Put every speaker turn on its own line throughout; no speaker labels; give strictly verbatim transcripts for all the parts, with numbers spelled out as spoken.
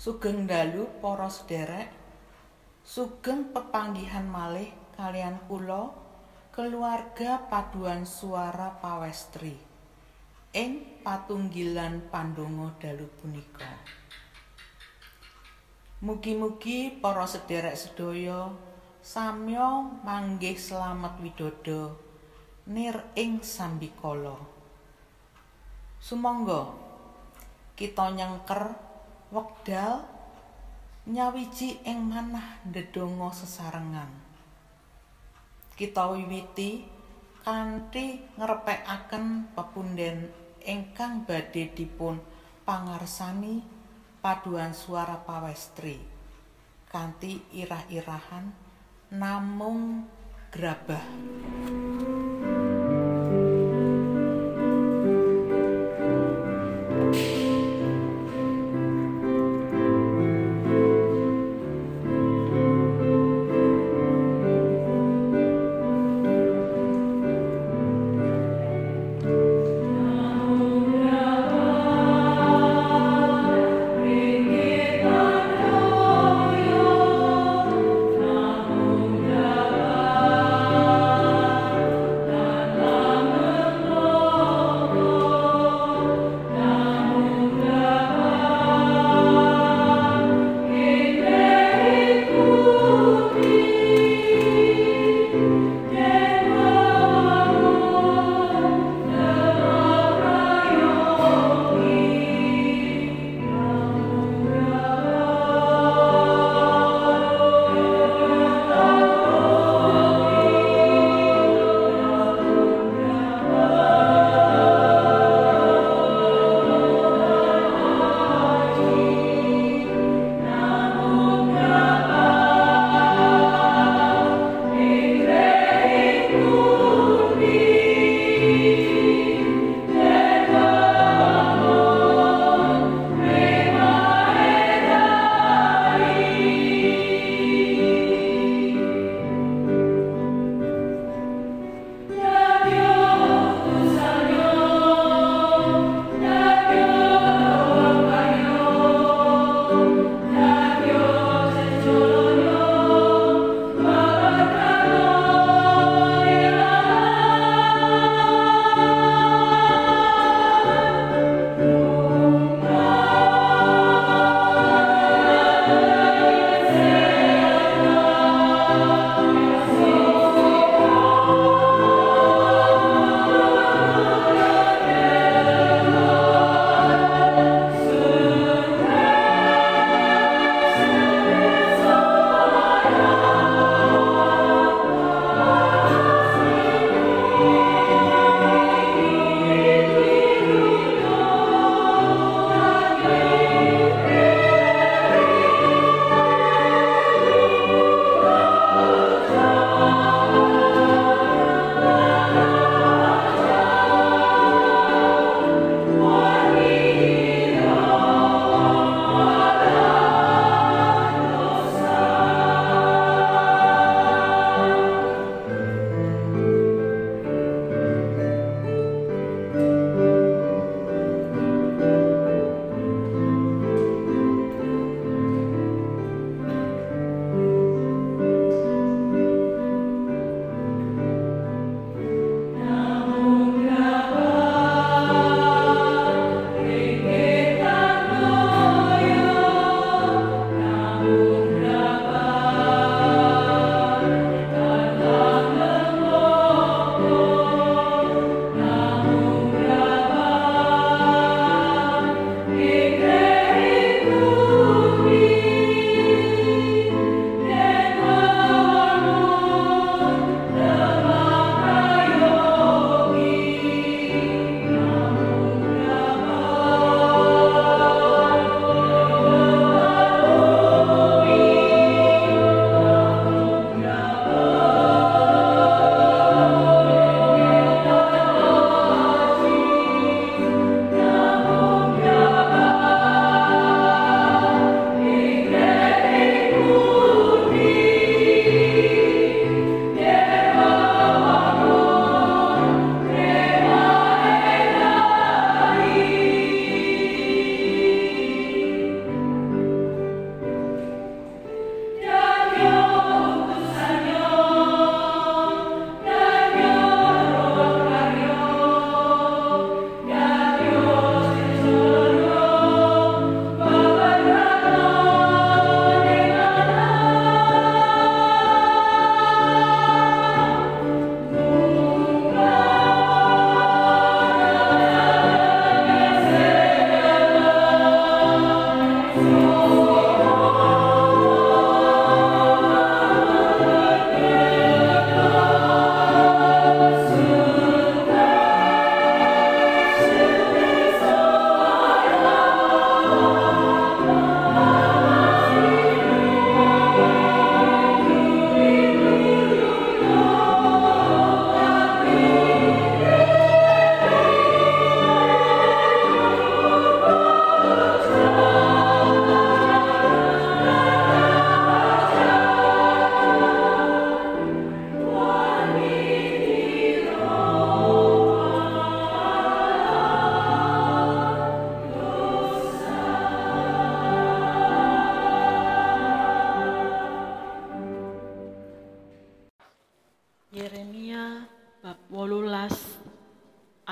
Sugeng dalu para sederek, sugeng pepanggihan malih kalian kula keluarga paduan suara pawestri ing patunggilan pandonga dalu punika. Mugi-mugi para sederek sedaya samya manggih slamet widodо nir ing sambikala. Sumangga kita nyengker wekdal nyawiji ing manah ndedonga sesarengan. Kita wiwiti kanthi ngrepekaken pepundhen ingkang badhe dipun pangarsani paduan suara pawestri kanthi irah-irahan namung grabah.
Amen.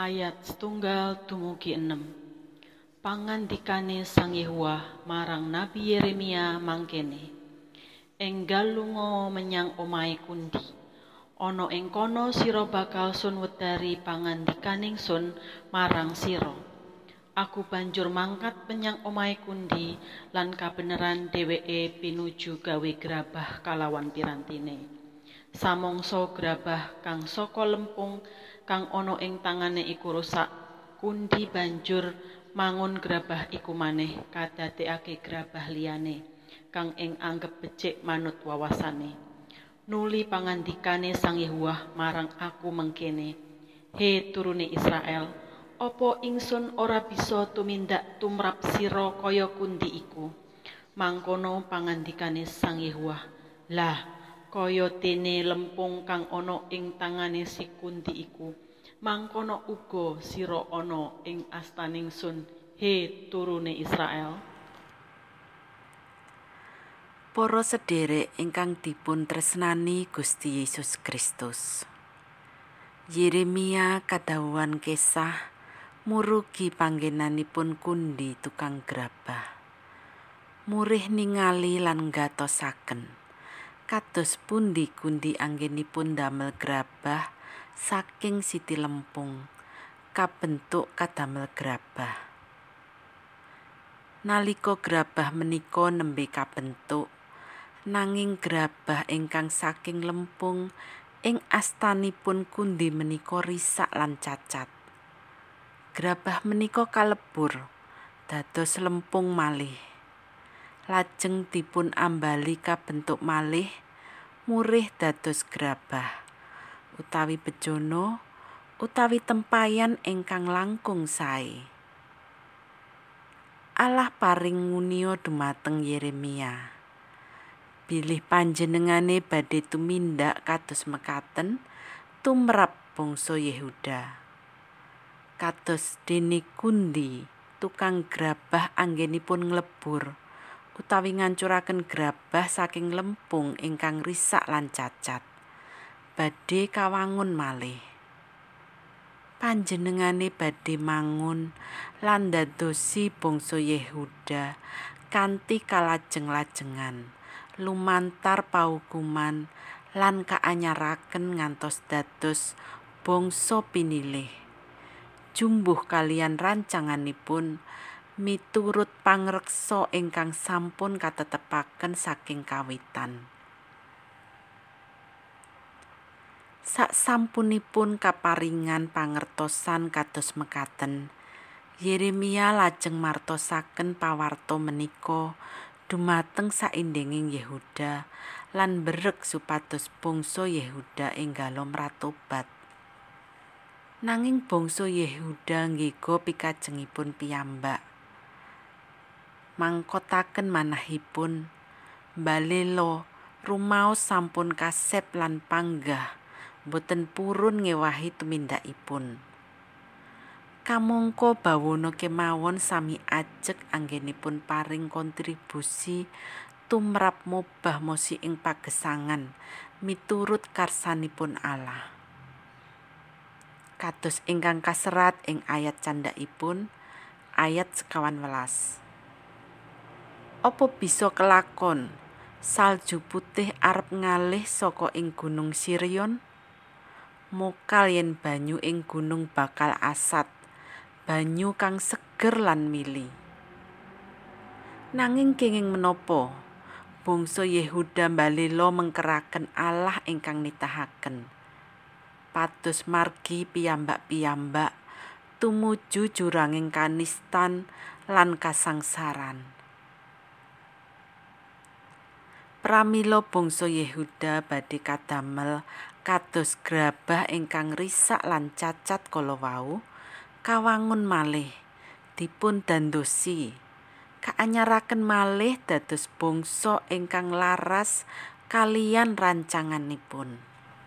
Ayat setunggal dumugi enem. Pangandikane Sang Yehuwa marang Nabi Yeremia mangkene. Enggal lunga menyang omahe kundi. Ana ing kono sira bakal sun wedari pangandikaning sun marang sira. Aku banjur mangkat menyang omahe kundi lan kabeneran dheweke pinuju gawe grabah kalawan pirantine. Samangsa grabah kang saka lempung kang ana ing tangane iku rusak, kundi banjur mangun grabah iku maneh kadadekake grabah liyane kang ing anggep becik manut wawasane. Nuli pangandikane Sang Yehuwa marang aku mengkene, he turune Israel, apa ingsun ora bisa tumindak tumrap sira kaya kundi iku? Mangkono pangandikane Sang Yehuwa, lah kaya dene lempung kang ana ing tangane si kundi iku, mangkono uga sira ana ing astaning sun, he turune Israel.
Para sedherek ingkang dipun tresnani Gusti Yesus Kristus. Yeremia kadhawuhan kesah murugi panggenanipun kundi tukang grabah. Murih ningali lan ngatosaken kados pundi kundi anggenipun damel grabah saking siti lempung kabentuk kadamel grabah. Nalika grabah menika nembe kabentuk, nanging grabah ingkang saking lempung ing astanipun kundi menika risak lan cacat. Grabah menika kalebur dados lempung malih. Lajeng dipun ambali kabentuk malih murih dados grabah utawi bejana utawi tempayan ingkang langkung sae. Allah paring ngunio dumateng Yeremia. Bilih panjenengane badhe tumindak kados mekaten tumrap bangsa Yehuda. Kados dene kundi tukang grabah anggenipun nglebur utawi ngancuraken grabah saking lempung ingkang risak lan cacat, badhe kawangun malih. Panjenengane badhe mangun lan ndadosi bangsa Yehuda kanthi kalajeng-lajengan lumantar paukuman lan kaanyaraken ngantos dados bangsa pinilih jumbuh kaliyan rancanganipun miturut pangreksa ingkang sampun katetepaken saking kawitan. Saksampunipun kaparingan pangertosan kados mekaten, Yeremia lajeng martosaken pawarta menika dumateng saindhenging Yehuda lan berek supados bangsa Yehuda enggala mratobat. Nanging bangsa Yehuda nggega pikajengipun piyambak. Mangkotaken manahipun, mbalela rumaos sampun kasep lan panggah boten purun ngewahi tumindakipun. Kamangka bawana kemawon sami ajeg anggenipun paring kontribusi tumrap mobah mosi ing pagesangan miturut karsanipun Allah. Kados ingkang kaserat ing ayat candhakipun ayat sekawan welas. Apa bisa kelakon salju putih arep ngalih saka ing gunung Sirion? Mokal yen banyu ing gunung bakal asat, banyu kang seger lan mili. Nanging kenging menapa bangsa Yehuda mbalela mengkeraken Allah ingkang nitahaken pados margi piyambak-piyambak tumuju juranging kanistan lan kasangsaran. Pramila bangsa Yehuda badhe kadamel kados grabah ingkang risak lan cacat kala wau, kawangun malih dipun dandosi, kaanyaraken malih dados bangsa ingkang laras kaliyan rancanganipun.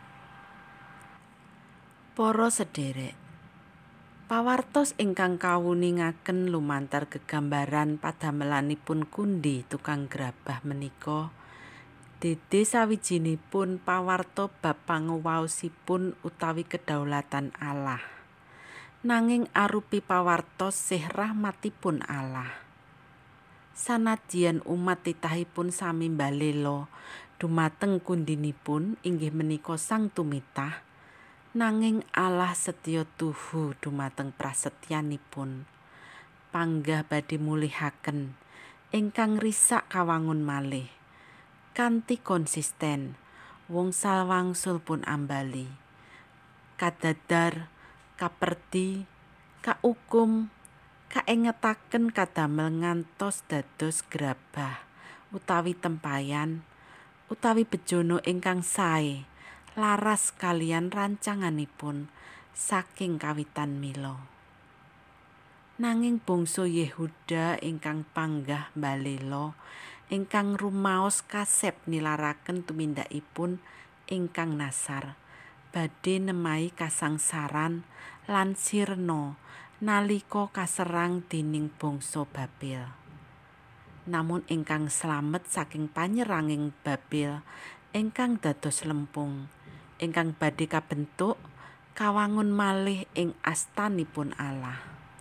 Para sedherek, pawartos ingkang kawuningaken lumantar gegambaran padamelanipun kundi tukang grabah menika dede sawijinipun pawarta bab panguwaosipun utawi kedaulatan Allah. nanging arupi pawartos sih rahmatipun Allah. Sanadyan umat titahipun sami mbalela dumateng kundinipun inggih menika Sang Tumitah, nanging Allah setya tuhu dumateng prasetyanipun. Panggah badhe mulihaken ingkang risak kawangun malih kanthi konsisten wungsal wangsul pun ambali. Kadadar, kaperdi, kaukum, kaengetaken kadamel ngantos dados grabah utawi tempayan utawi bejana ingkang sae laras kalian rancanganipun saking kawitan mila. Nanging bangsa Yehuda ingkang panggah mbalela ingkang rumaos kasep nilaraken tumindakipun ingkang nasar badhe nemahi kasangsaran lan sirna nalika kaserang dening bangsa Babel. Namun ingkang slamet saking panyeranging Babel ingkang dados lempung, ingkang badhe kabentuk kawangun malih ing astanipun Allah.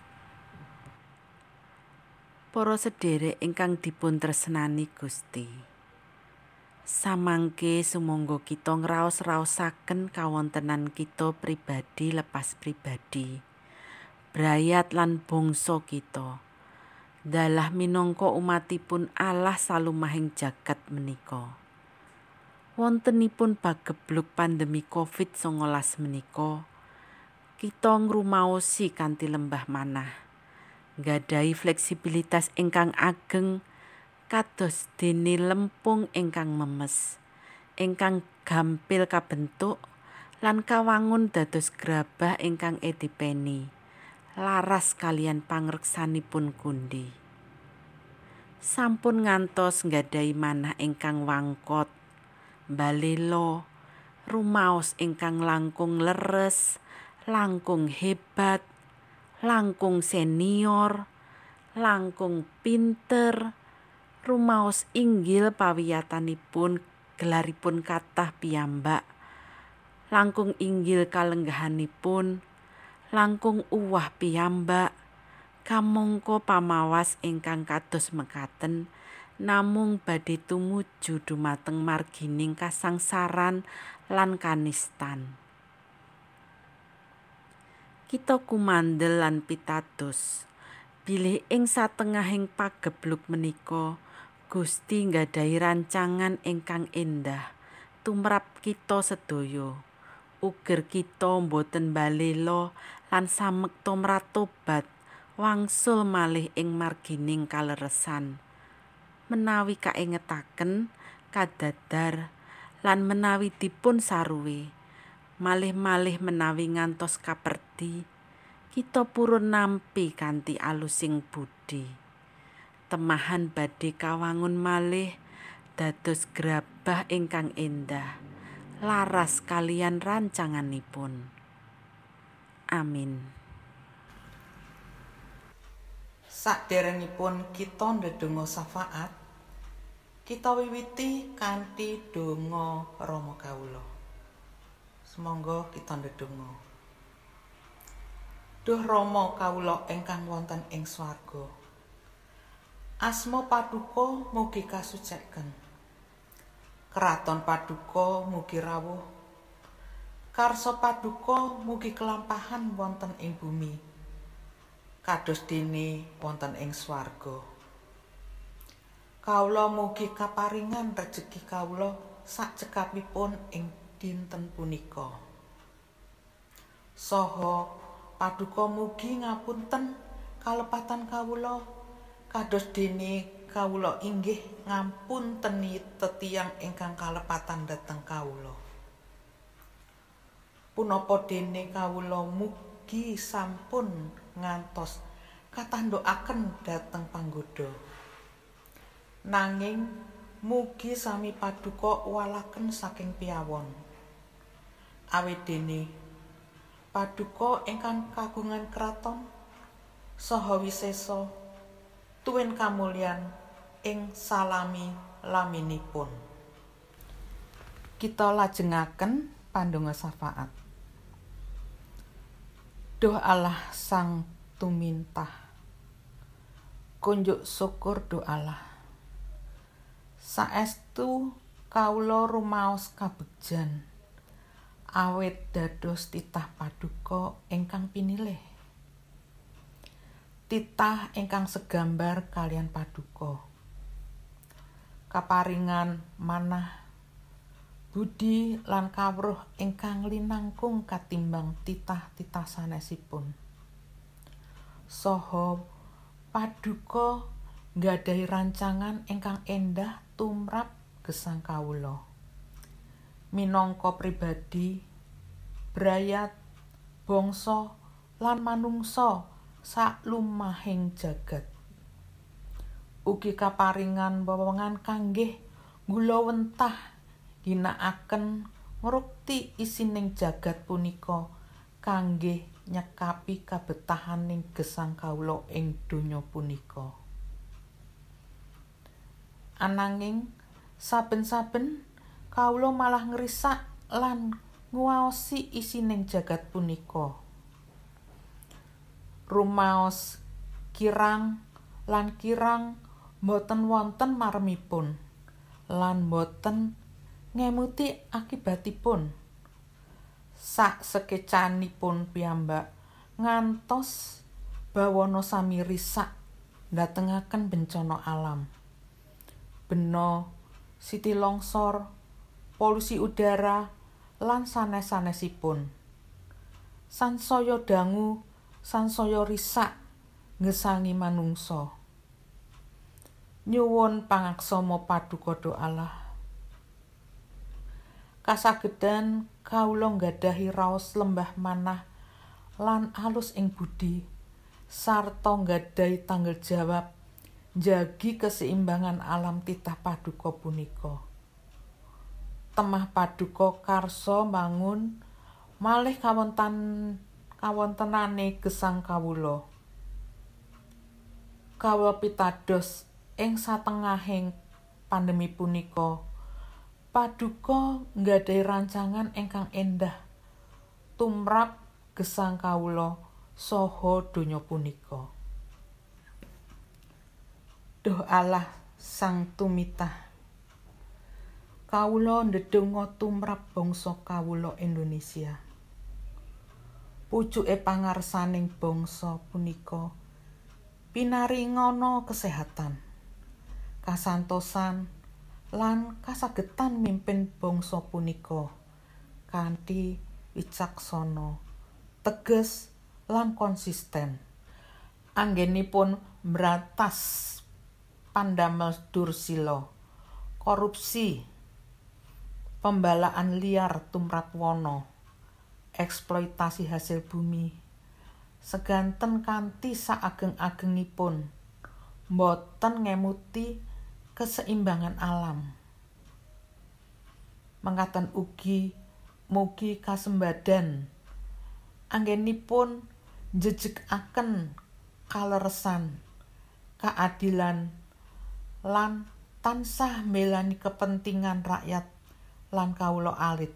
Para sedherek ingkang dipun tresnani Gusti, samangke sumangga kita ngraos-raosaken kawontenan kita pribadi lepas pribadi, brayat lan bangsa kita, dalah minangka umatipun Allah salumahing jagat menika. Wontenipun pagebluk pandemi covid sangalas menika, kita ngrumaosi kanthi lembah manah, nggadhahi fleksibilitas ingkang ageng kados dene lempung ingkang memes, ingkang gampil kabentuk lan kawangun dados grabah ingkang edipeni, laras kalian pangreksanipun kundi. Sampun ngantos nggadhahi manah ingkang wangkot, mbalela, rumaos ingkang langkung leres, langkung hebat, langkung senior, langkung pinter, rumaos inggil pawiyatanipun gelaripun kathah piyambak, langkung inggil kalenggahanipun, langkung uwah piyambak, kamangka pamawas ingkang kados mekaten namung badhe tumuju dumateng margining kasangsaran lan kanistan. Kita kumandel lan pitados bilih ing satengahing pagebluk menika Gusti nggadhahi rancangan ingkang endah tumrap kita sedaya. Uger kita boten mbalela lan samekta mratobat wangsul malih ing margining kaleresan. Menawi kaengetaken kadadar lan menawi dipun saruwe, malih-malih menawi ngantos kaperdi, kita purun nampi kanthi alusing budi. Temahan badhe kawangun malih dados grabah ingkang endah, laras kalian rancanganipun. Amin.
Saderengipun kita ndedonga syafaat, kita wiwiti kanthi donga Rama kawula. Sumangga kita ndedonga. Duh Rama kawula ingkang wonten ing swarga, asma paduka mugi kasucèken. Kraton paduka mugi rawuh. Karsa paduka mugi kelampahan wonten ing bumi, kados dene wonten ing swarga. Kawula mugi kaparingan rejeki kawula sakcekapipun ing dinten punika. Saha paduka mugi ngapunten kalepatan kawula kados dene kawula inggih ngapunteni tetiyang ingkang kalepatan dhateng kawula. Punapa dene kawula mugi sampun ngantos katandukaken dhateng panggoda. Nanging mugi sami paduka walaken saking piyawon. Awit dene paduka ingkang kagungan kraton saha wisesa tuwin kamulyan ing salami laminipun. Kita lajengaken pandonga syafaat. Duh Allah Sang Tumintah, kunjuk syukur Duh Allah. Saestu kawula rumaos kabegjan, awit dados titah paduka ingkang pinilih. Titah ingkang segambar kalian paduka. Kaparingan manah budi lan kawruh ingkang linangkung katimbang titah-titah sanesipun. Saha paduka nggadahi rancangan ingkang endah tumrap gesang kawula. Minangka pribadi, brayat, bangsa lan manungsa saklumahing jagat. Ugi kaparingan wewengan kanggih nggulawentah ginakaken ngrukti isining jagat punika kanggih nyekapi kabetahaning gesang kawula ing donya punika. Ananging saben-saben kawula malah ngrisak lan nguwaosi isining jagat punika. Rumaos kirang lan kirang boten wonten maremipun lan boten ngemuti akibatipun. Sak sekecanipun piyambak ngantos bawana sami risak ndatengaken bencana alam. Bena, siti longsor, polusi udara lan sanes-sanesipun. Sansaya dangu, sansaya risak ngesangi manungsa. Nyuwun pangaksama paduka Duh Allah. Kasagedan kawula nggadahi raos lembah manah lan alus ing budi sarta nggadahi tanggung jawab njagi keseimbangan alam titah paduka punika. Temah paduka karsa mangun malih kawonten kawontenane gesang kawula. Kawula pitados ing satengahing pandemi punika paduka nggadahi rancangan ingkang endah tumrap gesang kawula saha donya punika. Duh Allah Sang Tumitah, kawula ndedonga tumrap bangsa kawula Indonesia. Pucuke pangarsaning bangsa punika pinaringana kesehatan, kasantosan lan kasagetan mimpin bangsa punika kanthi wicaksana, teges lan konsisten. Anggenipun mbratas pandamel dursila, korupsi, pembalaan liar tumrap wana, eksploitasi hasil bumi, seganten kanthi saageng-agengipun boten ngemuti keseimbangan alam. Mangkaten ugi mugi kasembadan anggenipun njejekaken kaleresan, keadilan lan tansah melani kepentingan rakyat lan kawula alit.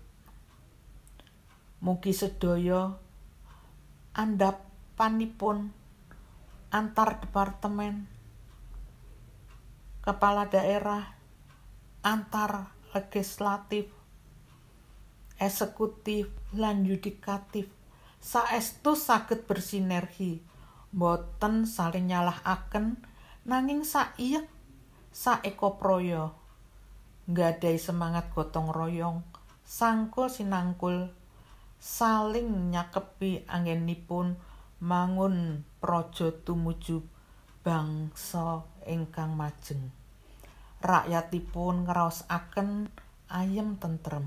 Mugi sedaya andhapanipun antar departemen, kepala daerah, antar legislatif, eksekutif lan yudikatif saestu saged bersinergi, boten saling nyalahaken nanging saiyek saekapraya, nggadahi semangat gotong royong, sangkul sinangkul, saling nyakepi anggenipun mangun praja tumuju bangsa ingkang majeng. Rakyatipun ngraosaken ayem tentrem.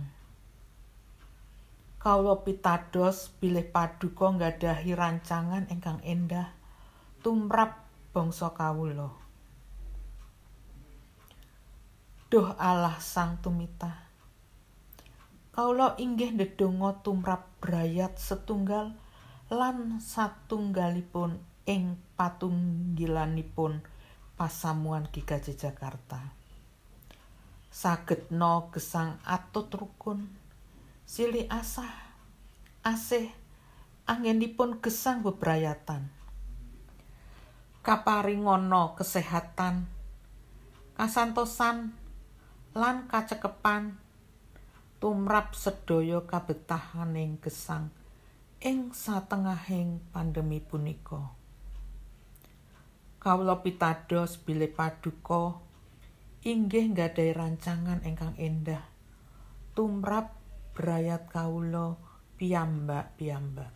Kawula pitados bilih paduka nggadahi rancangan ingkang endah tumrap bangsa kawula. Duh Allah Sang Tumitah, kawula inggih ndedonga tumrap brayat setunggal lan satunggalipun ing patunggilanipun pasamuan G K J Jakarta. Sagedna gesang atut rukun, silih asah, asih anggenipun gesang bebrayatan. Kaparingana kesehatan, kasantosan lan kacekepan tumrap sedaya kabetahaning gesang ing satengahing pandemi punika. Kawula pitados bilih paduka inggih nggadhahi rancangan ingkang endah tumrap brayat kawula piyambak-piyambak.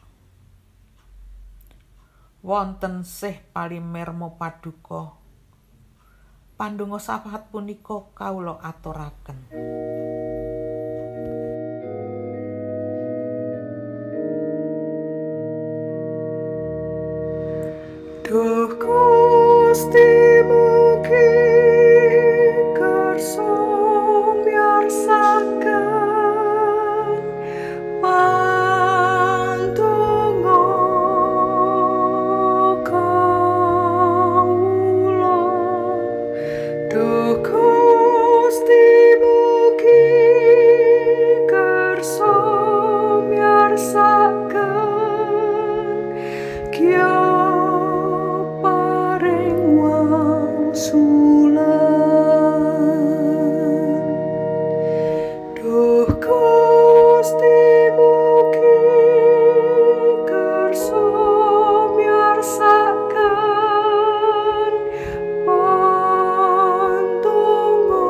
Wonten sih palimirma paduka, pandonga safahat punika kawula aturaken.
Duh Gusti mugi kersa miarsaken pandonga kawula. Duh Gusti mugi kersa miarsaken kya Duh Gusti mugi kersa miarsaken pandonga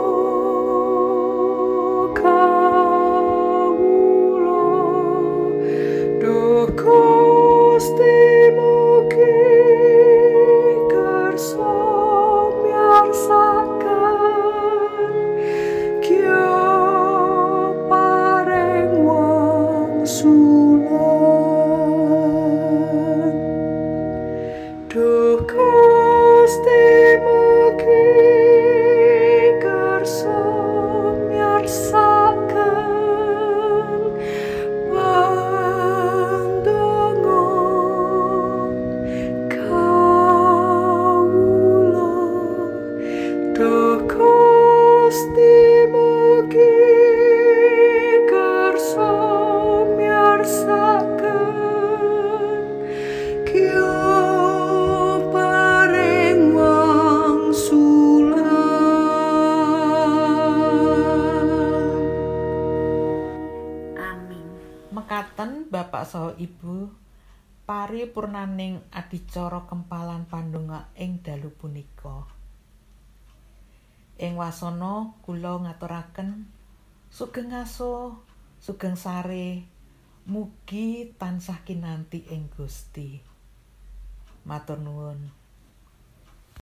kawula. Duh Gusti mugi kersa miarsaken kya paring wangsulan. Duh Gusti mugi kersa miarsaken pandonga kawula. Duh Gusti mugi kersa miarsaken kya paring wangsulan.
Amin.
Mekaten Bapak saha Ibu, paripurnaning adicara kempalan pandonga ing dalu punika. Ing wasana kula ngaturaken sugeng aso, sugeng sare, mugi tansah kinanti ing Gusti. Matur nuwun.